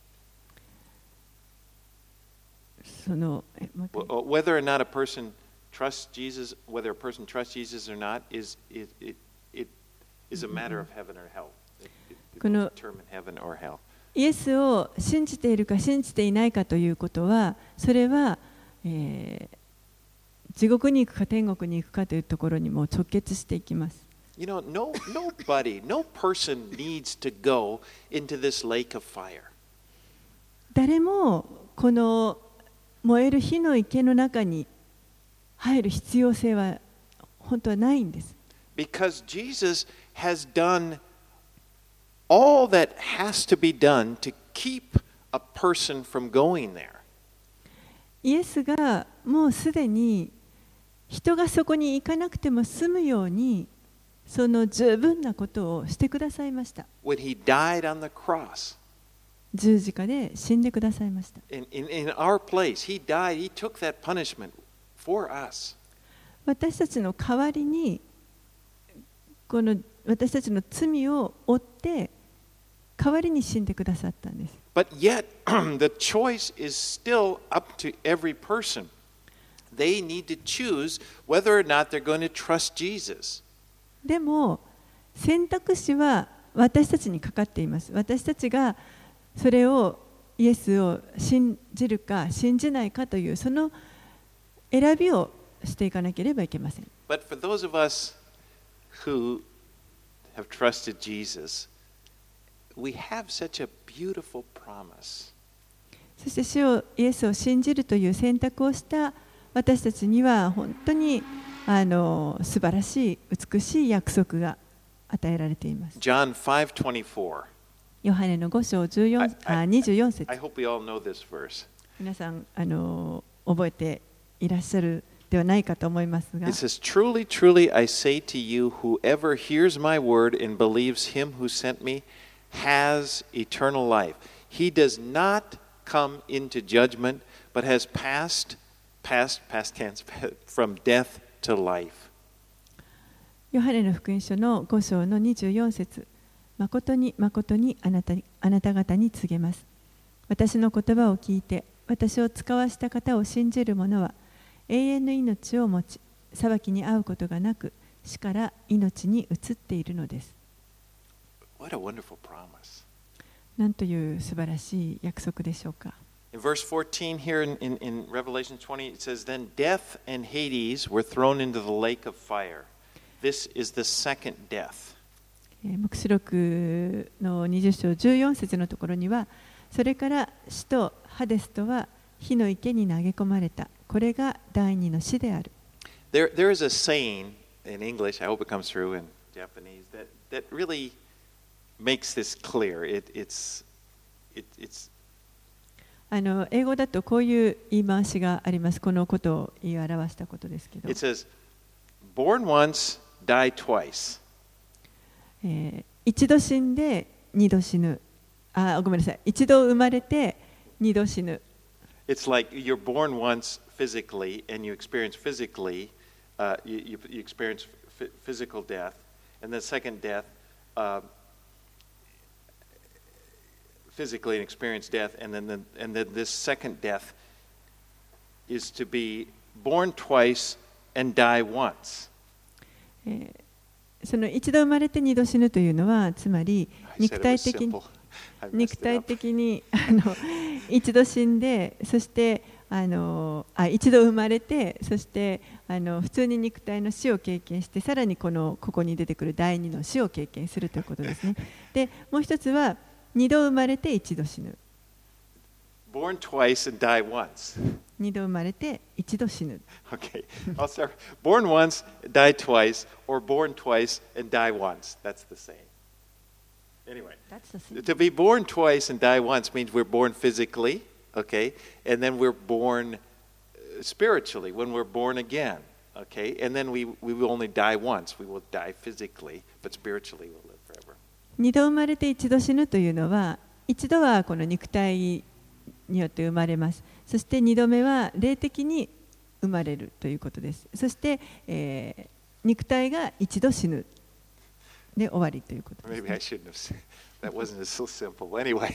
そのもう一回 Whether or not a person trusts Jesus, whether a person trusts Jesus or not, is a matter of heaven or hell. It will determine heaven or hell. イエスを信じているか信じていないかということは、それは、地獄に行くか天国に行くかというところにも直結していきます。 You know, no person needs to go into this lake of fire. 誰もこの燃える火の池の中に入る必要性は本当はないんです。 Because Jesus has done all that has to be done to keep a person from going there. イエスがもうすでに人がそこに行かなくても済むようにその十分なことをしてくださいました。 When he died on the cross, 十字架で死んでくださいました。 in our place, he died, he took that punishment for us. 私たちの代わりにこの私たちの罪を負って代わりに死んでくださったんです。 But yet, the choice is still up to every person. They need to choose whether or not they're going to trust Jesus. でも選択肢は私たちにかかっています。私たちがそれをイエスを信じるか信じないかというその選びをしていかなければいけません。 But for those of us who have trusted Jesus, we have such a beautiful promise. そしてイエスを信じるという選択をした私たちには本当に素晴らしい美しい約束が与えられています。 John 5:24. ヨハネの5章24節。 I hope we all know this verse. 皆さん覚えていらっしゃるではないかと思いますが。 It says, "Truly, truly, I say to you, whoever hears my word and believes him who sent me has eternal life. He does not come into judgment, but has passed tense, from death to life." ヨハネの福音書の5章の24節。誠に誠にあなた方に告げます。私の言葉を聞いて私を使わした方を信じる者は永遠の命を持ち、裁きに遭うことがなく、死から命に移っているのです。 What a wonderful promise. なんという素晴らしい約束でしょうか。 In verse 14 here in Revelation 20, it says, "Then death and Hades were thrown into the lake of fire. This is the second death." 黙示録の20章14節のところには、それから死とハデスとは火の池に投げ込まれた。これが第二の死である。 There is a saying in English, I hope it comes through in Japanese, that really makes this clear. It's 英語だとこういう言い回しがあります。このことを言い表したことですけど。 It says, "Born once, die twice." 一度死んで二度死ぬ。ごめんなさい。一度生まれて二度死ぬ。 It's like you're born once physically and you experience physically, you experience physical death, and the second death, physically and experience death, and then this second death is to be born twice and die once. その一度生まれて二度死ぬというのは、つまり肉体的に一度死んで、そして一度生まれて、そして普通に肉体の死を経験して、さらにここに出てくる第二の死を経験するということですね。で、もう一つは二度生まれて一度死ぬ。 Born twice and die once. 二度生まれて一度死ぬ。 Okay, I'll start. Born once, die twice, or born twice and die once. That's the same. Anyway, to be born twice and die once means we're born physically, okay, and then we're born spiritually when we're born again, okay, and then we will only die once. We will die physically, but spiritually we'll live forever. 二度生まれて一度死ぬというのは、一度はこの肉体によって生まれます。そして二度目は霊的に生まれるということです。そして、肉体が一度死ぬ。 で終わりということです、 Maybe I shouldn't have said that. Wasn't so simple. Anyway,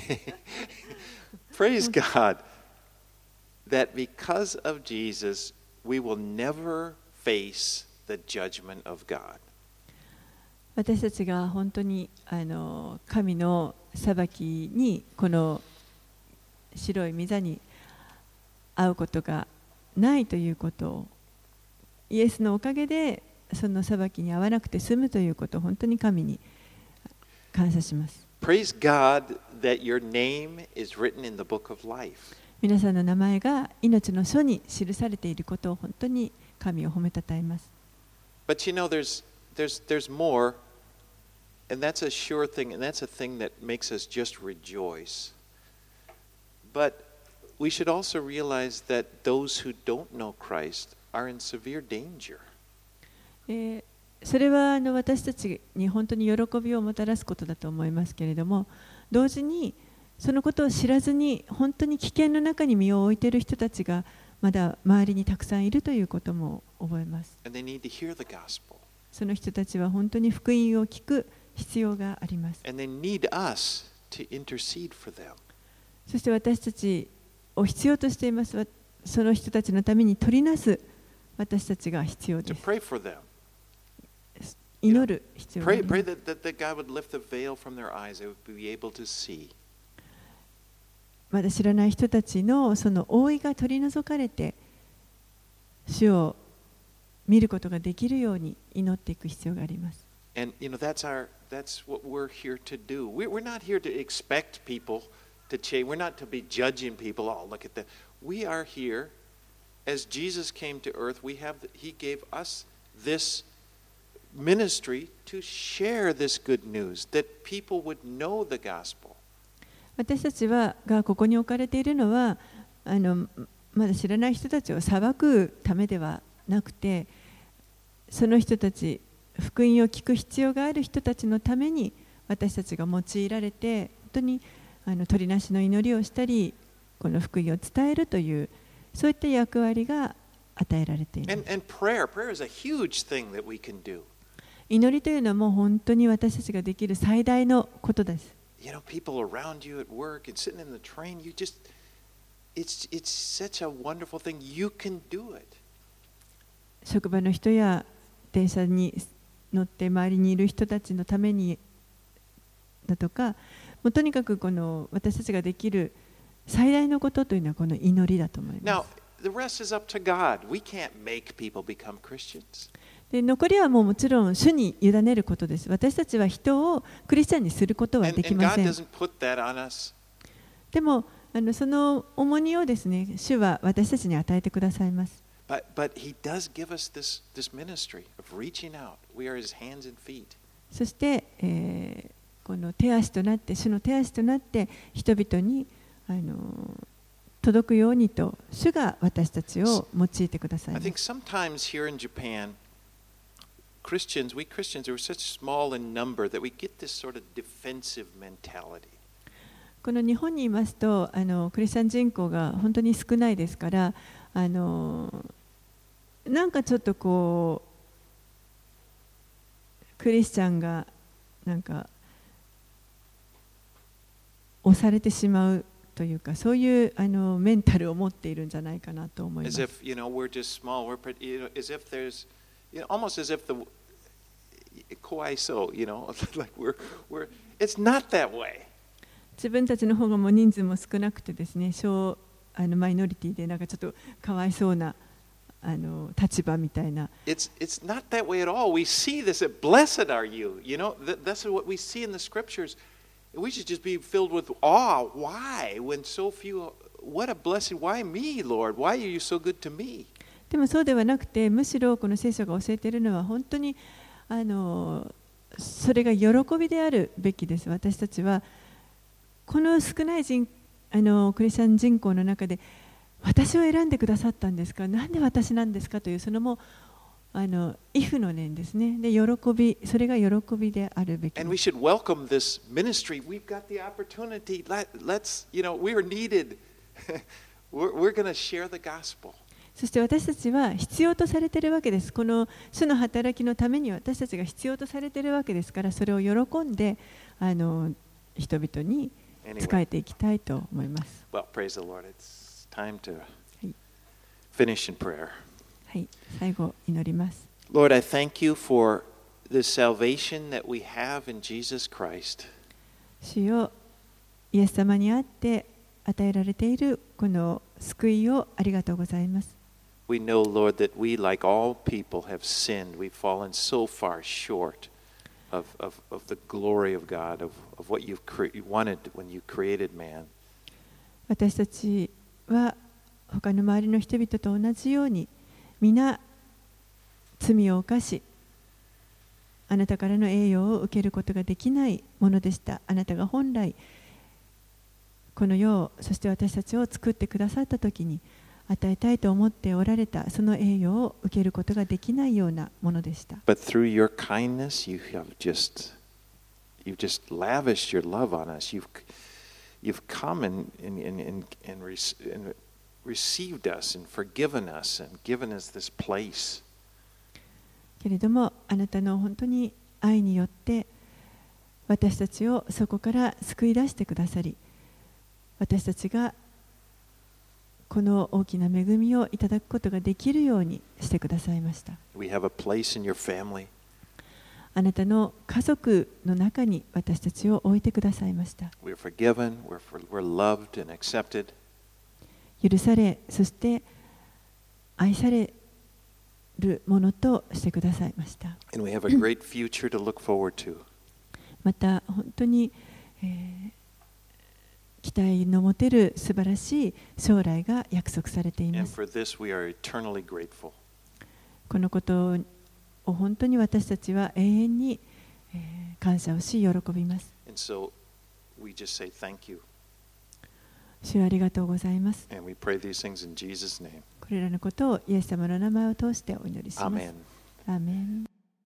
praise God that because of Jesus, we will never face the judgment of God. 私たちが本当に神の裁きにこの白い御座に会うことがないということを、イエスのおかげでその裁きに遭わなくて済むということを本当に神に感謝します。 Praise God that your name is written in the book of life. 皆さんの名前が命の書に記されていることを本当に神を褒めたたえます。 But you know, there's more, and that's a sure thing, and that's a thing that makes us just rejoice. But we should also realize that those who don't know Christ are in severe danger. それは私たちに本当に喜びをもたらすことだと思いますけれども、同時にそのことを知らずに本当に危険の中に身を置いている人たちがまだ周りにたくさんいるということも覚えます。 And they need to hear the gospel. その人たちは本当に福音を聞く必要があります。 And they need us to intercede for them. そして私たちを必要としています。その人たちのために取りなす私たちが必要で To す。 pray for them. 祈る必要があり Pray, ます。 pray that God would lift the veil from their eyes. They would be able to see. まだ知らない人たちのその覆いが取り除かれて、主を見ることができるように祈っていく必要があります。 And you know, that's what we're here to do. We're not here to expect people to change. We're not to be judging people. Oh, look at that. We are here, as Jesus came to earth, He gave us this ministry to share this good news, that people would know the gospel. 私たちがここに置かれているのはまだ知らない人たちを裁くためではなくて、その人たち、福音を聞く必要がある人たちのために私たちが用いられて、本当に取りなしの祈りをしたり、この福音を伝えるという、そういった役割が与えられている。 And prayer is a huge thing that we can do. 祈りというのはもう本当に私たちができる最大のことです。 You know, people around you at work and sitting in the train, it's such a wonderful thing. You can do it. 職場の人や電車に乗って周りにいる人たちのためにだとか、もうとにかくこの私たちができる最大のことというのはこの祈りだと思いま Now, す。 the rest is up to God. We can't make people become Christians. で残りはもちろん主に委ねることです。私たちは人をクリスチャンにすることはでき And ま God せん。 doesn't put that on us. でもその重荷をですね、主は私たちに与えてくださいます。 But He does give us this ministry of reaching out. We are His hands and feet. そして、この手足となって、主の手足となって人々に届くようにと主が私たちを用いてください I ま think す。 sometimes here in Japan, we Christians are such small in number that we get this sort of defensive mentality. この日本にいますとクリスチャン人口が本当に少ないですからなんかちょっとこうクリスチャンがなんか押されてしまうというか、そういうメンタルを持っているんじゃないかなと思いま As す。 if, we're just small. As if there's, almost as if the kawaii-so, like it's not that way. 自分たちの方がもう人数も少なくてですね、マイノリティでなんかちょっとかわいそうな立場みたいな。 It's not that way at all. We see this. Blessed are you. That's what we see in the scriptures. We should just be filled with awe. Why? When so few, what a blessing. Why me, Lord? Why are you so good to me? でもそうではなくて、むしろこの聖書が教えているのは本当にそれが喜びであるべきです。私たちはこの少ないクリスチャン人口の中で私を選んでくださったんですか、なんで私なんですかというそのもイフの念ですね。で、それが喜びであるべきです。 And we should welcome this ministry. We've got the opportunity. Let's, we are needed. We're going to share the gospel. そして私たちは必要とされているわけです。この主の働きのために私たちが必要とされているわけですから、それを喜んで人々に仕えていきたいと思います。 Well, praise the Lord. It's time to はい、 finish in prayer. はい、最後祈ります。 Lord, I thank you for the salvation that we have in Jesus Christ. 主よ、イエス様にあって与えられているこの救いをありがとうございます。 We know, Lord, that we, like all people, have sinned. We've fallen so far short of the glory of God, of what you wanted when you created man. 私たちは他の周りの人々と同じように皆罪を犯し、あなたからの栄誉を受けることができないものでした。あなたが本来この世を、そして私たちを作ってくださったときに与えたいと思っておられたその栄誉を受けることができないようなものでした。 But through your kindness, you've just lavished your love on us. You've come and received us and forgiven us and given us this place. けれどもあなたの本当に愛によって私たちをそこから救い出してくださり、私たちがこの大きな恵みをいただくことができるようにしてくださいました。 We have a place in your family. あなたの家族の中に私たちを置いてくださいました。 We're forgiven, we're loved and accepted. 許され、そして愛されるものとしてくださいました。 And we have a great future to look forward to. また本当に、期待の持てる素晴らしい将来が約束されていま And す。 for this, we are eternally grateful. このことを本当に私たちは永遠に感謝をし喜びます。 And so we just say thank you. 主ありがとうございます。 And we pray these things in Jesus' name. これらのことをイエス様の名前を通してお祈りします。 Amen. アーメン。